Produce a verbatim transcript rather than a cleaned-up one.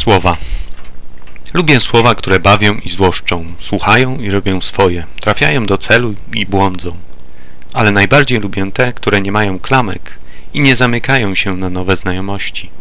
Słowa. Lubię słowa, które bawią i złoszczą, słuchają i robią swoje, trafiają do celu i błądzą. Ale najbardziej lubię te, które nie mają klamek i nie zamykają się na nowe znajomości.